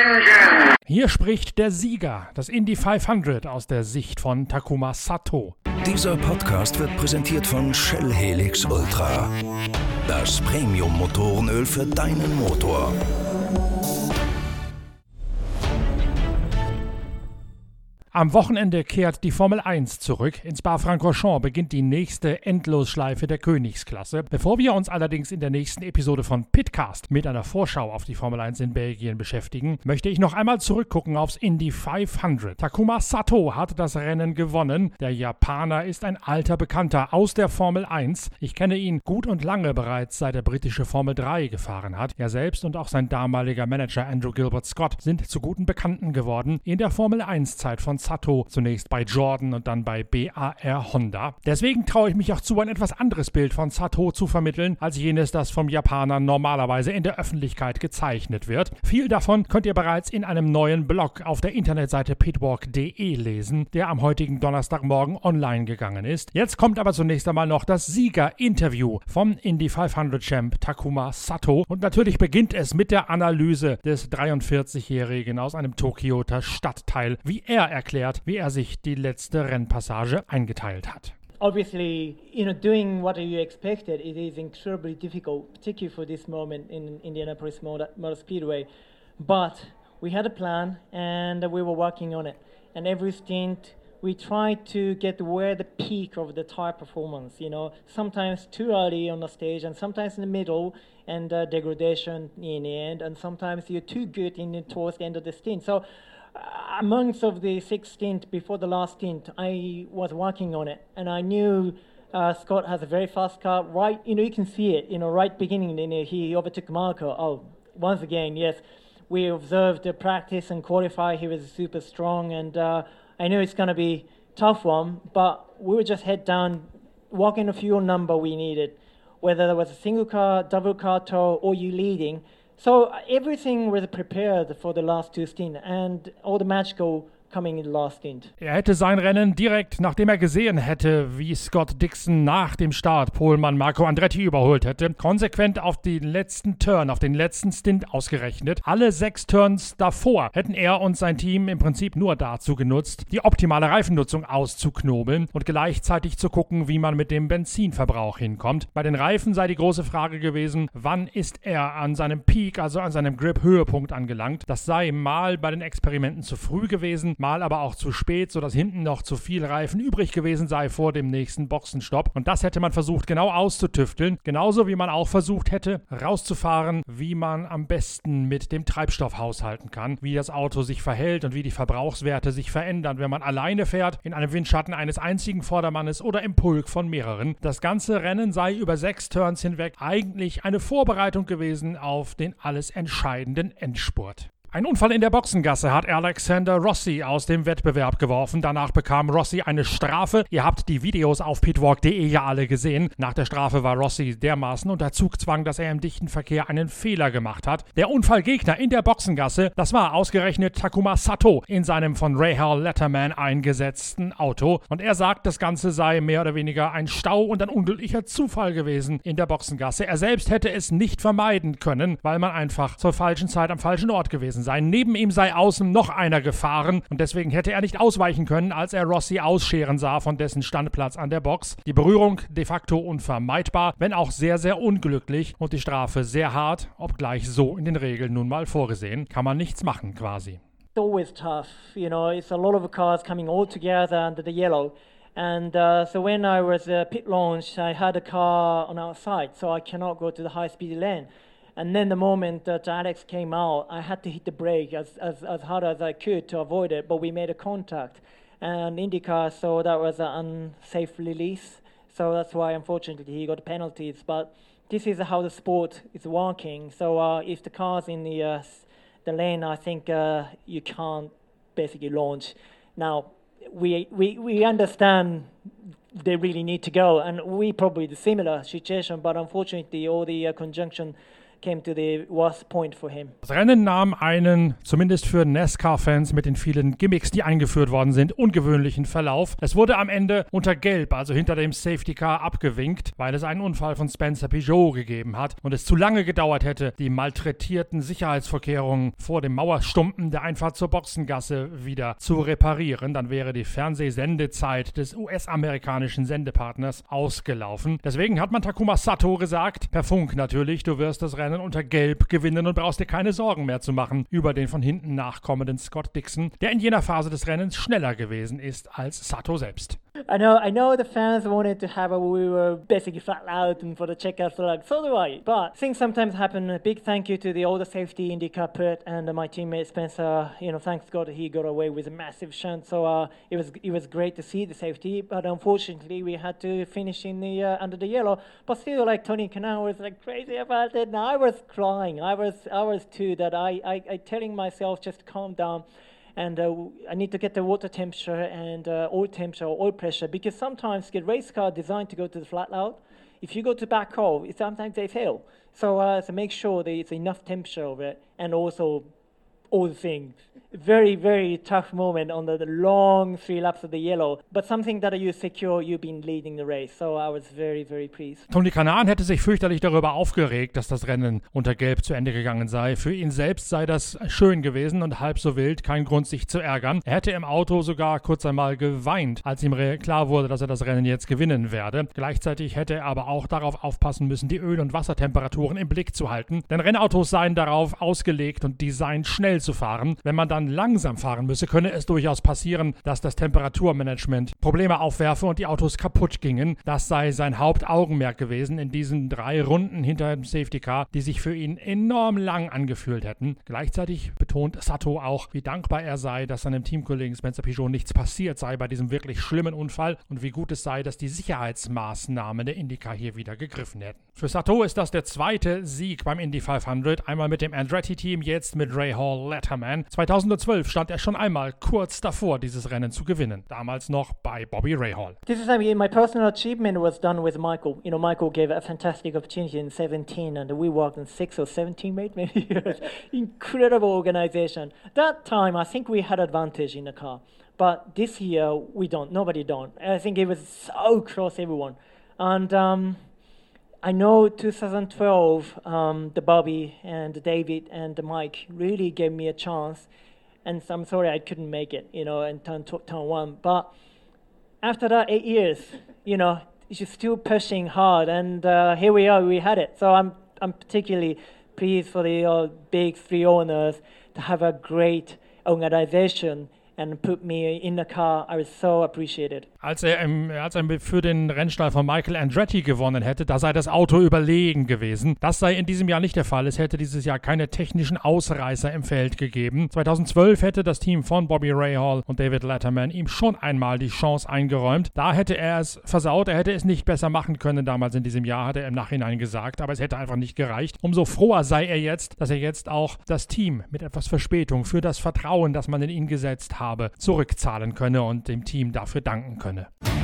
engine. Hier spricht der Sieger, das Indy 500 aus der Sicht von Takuma Sato. Dieser Podcast wird präsentiert von Shell Helix Ultra. Das Premium-Motorenöl für deinen Motor. Am Wochenende kehrt die Formel 1 zurück. In Spa-Francorchamps beginnt die nächste Endlosschleife der Königsklasse. Bevor wir uns allerdings in der nächsten Episode von Pitcast mit einer Vorschau auf die Formel 1 in Belgien beschäftigen, möchte ich noch einmal zurückgucken aufs Indy 500. Takuma Sato hat das Rennen gewonnen. Der Japaner ist ein alter Bekannter aus der Formel 1. Ich kenne ihn gut und lange bereits, seit er britische Formel 3 gefahren hat. Er selbst und auch sein damaliger Manager Andrew Gilbert Scott sind zu guten Bekannten geworden in der Formel 1-Zeit von Sato, zunächst bei Jordan und dann bei BAR Honda. Deswegen traue ich mich auch zu, ein etwas anderes Bild von Sato zu vermitteln, als jenes, das vom Japaner normalerweise in der Öffentlichkeit gezeichnet wird. Viel davon könnt ihr bereits in einem neuen Blog auf der Internetseite pitwalk.de lesen, der am heutigen Donnerstagmorgen online gegangen ist. Jetzt kommt aber zunächst einmal noch das Sieger-Interview vom Indy 500-Champ Takuma Sato und natürlich beginnt es mit der Analyse des 43-Jährigen aus einem Tokioter Stadtteil, wie er erklärt, wie er sich die letzte Rennpassage eingeteilt hat. Obviously, doing what you expected, it is incredibly difficult, particularly for this moment in Indianapolis Motor Speedway. But we had a plan and we were working on it. And every stint, we tried to get where the peak of the tire performance, sometimes too early on the stage and sometimes in the middle and degradation in the end. And sometimes you're too good towards the end of the stint. So amongst of the 6 stint before the last stint, I was working on it, and I knew Scott has a very fast car. Right, you can see it. Right beginning, he overtook Marco. Oh, once again, yes, we observed the practice and qualify. He was super strong, and I knew it's going to be tough one. But we were just head down, walking the fuel number we needed, whether there was a single car, double car tow, or you leading. So everything was prepared for the last 2 stints and all the magical coming in the last stint. Er hätte sein Rennen direkt, nachdem er gesehen hätte, wie Scott Dixon nach dem Start Pohlmann Marco Andretti überholt hätte, konsequent auf den letzten Turn, auf den letzten Stint ausgerechnet. Alle 6 Turns davor hätten er und sein Team im Prinzip nur dazu genutzt, die optimale Reifennutzung auszuknobeln und gleichzeitig zu gucken, wie man mit dem Benzinverbrauch hinkommt. Bei den Reifen sei die große Frage gewesen, wann ist er an seinem Peak, also an seinem Grip-Höhepunkt angelangt. Das sei mal bei den Experimenten zu früh gewesen, mal aber auch zu spät, sodass hinten noch zu viel Reifen übrig gewesen sei vor dem nächsten Boxenstopp. Und das hätte man versucht genau auszutüfteln. Genauso wie man auch versucht hätte, rauszufahren, wie man am besten mit dem Treibstoff haushalten kann, wie das Auto sich verhält und wie die Verbrauchswerte sich verändern, wenn man alleine fährt, in einem Windschatten eines einzigen Vordermannes oder im Pulk von mehreren. Das ganze Rennen sei über 6 Turns hinweg eigentlich eine Vorbereitung gewesen auf den alles entscheidenden Endspurt. Ein Unfall in der Boxengasse hat Alexander Rossi aus dem Wettbewerb geworfen. Danach bekam Rossi eine Strafe. Ihr habt die Videos auf pitwalk.de ja alle gesehen. Nach der Strafe war Rossi dermaßen unter Zugzwang, dass er im dichten Verkehr einen Fehler gemacht hat. Der Unfallgegner in der Boxengasse, das war ausgerechnet Takuma Sato in seinem von Rahal Letterman eingesetzten Auto. Und er sagt, das Ganze sei mehr oder weniger ein Stau und ein unglücklicher Zufall gewesen in der Boxengasse. Er selbst hätte es nicht vermeiden können, weil man einfach zur falschen Zeit am falschen Ort gewesen sei. Neben ihm sei außen noch einer gefahren und deswegen hätte er nicht ausweichen können, als er Rossi ausscheren sah von dessen Standplatz an der Box. Die Berührung de facto unvermeidbar, wenn auch sehr, sehr unglücklich und die Strafe sehr hart, obgleich so in den Regeln nun mal vorgesehen. Kann man nichts machen quasi. It's always tough, it's a lot of cars coming all together under the yellow. And so when I was pit launch, I had a car on our side, so I cannot go to the high-speed lane. And then the moment that Alex came out, I had to hit the brake as hard as I could to avoid it, but we made a contact. And IndyCar saw that was an unsafe release, so that's why unfortunately he got penalties. But this is how the sport is working. So if the car's in the lane, I think you can't basically launch. Now, we understand they really need to go, and we probably the similar situation, but unfortunately all the conjunction came to the worst point for him. Das Rennen nahm einen, zumindest für NASCAR-Fans mit den vielen Gimmicks, die eingeführt worden sind, ungewöhnlichen Verlauf. Es wurde am Ende unter Gelb, also hinter dem Safety Car, abgewinkt, weil es einen Unfall von Spencer Peugeot gegeben hat und es zu lange gedauert hätte, die malträtierten Sicherheitsvorkehrungen vor dem Mauerstumpen der Einfahrt zur Boxengasse wieder zu reparieren. Dann wäre die Fernsehsendezeit des US-amerikanischen Sendepartners ausgelaufen. Deswegen hat man Takuma Sato gesagt, per Funk natürlich, du wirst das Rennen unter Gelb gewinnen und brauchst dir keine Sorgen mehr zu machen über den von hinten nachkommenden Scott Dixon, der in jener Phase des Rennens schneller gewesen ist als Sato selbst. I know the fans wanted to have we were basically flat out and for the checkout, so like, so do I. But things sometimes happen. A big thank you to all the safety IndyCar pit and my teammate Spencer. Thanks God he got away with a massive shunt. So it was great to see the safety, but unfortunately we had to finish in the under the yellow. But still, like Tony Kanaan was like crazy about it. And I was crying. I was too. That I telling myself just calm down. And I need to get the water temperature and oil pressure, because sometimes get race car designed to go to the flat out. If you go to back hole, sometimes they fail. So make sure there's enough temperature of it, and also all the things. Very, very tough moment on the long 3 laps of the yellow, but something that you secure, you've been leading the race, so I was very, very pleased. Tony Kanaan hätte sich fürchterlich darüber aufgeregt, dass das Rennen unter Gelb zu Ende gegangen sei. Für ihn selbst sei das schön gewesen und halb so wild, kein Grund sich zu ärgern. Er hätte im Auto sogar kurz einmal geweint, als ihm klar wurde, dass er das Rennen jetzt gewinnen werde. Gleichzeitig hätte er aber auch darauf aufpassen müssen, die Öl- und Wassertemperaturen im Blick zu halten, denn Rennautos seien darauf ausgelegt und designt, schnell zu fahren. Wenn man dann langsam fahren müsse, könne es durchaus passieren, dass das Temperaturmanagement Probleme aufwerfe und die Autos kaputt gingen. Das sei sein Hauptaugenmerk gewesen in diesen 3 Runden hinter dem Safety Car, die sich für ihn enorm lang angefühlt hätten. Gleichzeitig betont Sato auch, wie dankbar er sei, dass seinem Teamkollegen Spencer Peugeot nichts passiert sei bei diesem wirklich schlimmen Unfall und wie gut es sei, dass die Sicherheitsmaßnahmen der IndyCar hier wieder gegriffen hätten. Für Sato ist das der 2. Sieg beim Indy 500, einmal mit dem Andretti-Team, jetzt mit Rahal Letterman. 2012 stand er schon einmal kurz davor, dieses Rennen zu gewinnen. Damals noch bei Bobby Rahal. This is my personal achievement was done with Michael. Michael gave a fantastic opportunity in 17 and we worked in 6 or 17 maybe years. Incredible organization. That time I think we had advantage in the car. But this year we don't. Nobody don't. I think it was so close everyone. And I know 2012 the Bobby and the David and the Mike really gave me a chance. And I'm sorry I couldn't make it, in turn 1. But after that 8 years, you're still pushing hard, and here we are. We had it. So I'm particularly pleased for the big 3 owners to have a great organization and put me in the car. I was so appreciated. Als er für den Rennstall von Michael Andretti gewonnen hätte, da sei das Auto überlegen gewesen. Das sei in diesem Jahr nicht der Fall. Es hätte dieses Jahr keine technischen Ausreißer im Feld gegeben. 2012 hätte das Team von Bobby Rahal und David Letterman ihm schon einmal die Chance eingeräumt. Da hätte er es versaut. Er hätte es nicht besser machen können damals in diesem Jahr, hat er im Nachhinein gesagt. Aber es hätte einfach nicht gereicht. Umso froher sei er jetzt, dass er jetzt auch das Team mit etwas Verspätung für das Vertrauen, das man in ihn gesetzt habe, zurückzahlen könne und dem Team dafür danken könne.